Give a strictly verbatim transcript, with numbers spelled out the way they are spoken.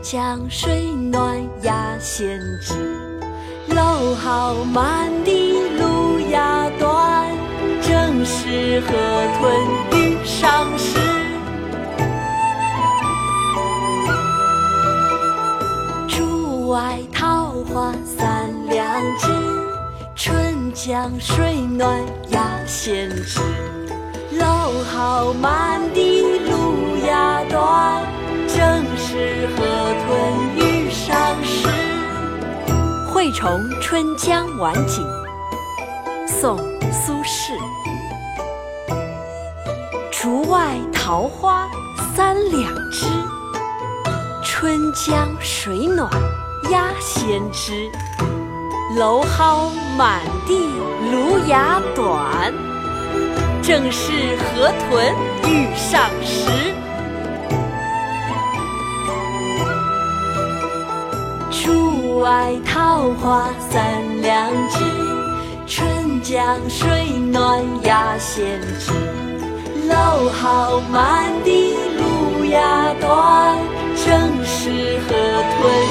江水暖鸭先知。蒌蒿满地芦芽短，正是河豚欲上时。竹外桃花三两枝，春江水暖鸭先知。蒌蒿满地芦芽短，正是河豚欲上时。惠崇春江晚景，宋·苏轼。竹外桃花三两枝，春江水暖鸭先知。蒌蒿满地芦芽短，正是河豚欲上时。竹外桃花三两枝，春江水暖鸭先知。蒌蒿满地芦芽短，正是河豚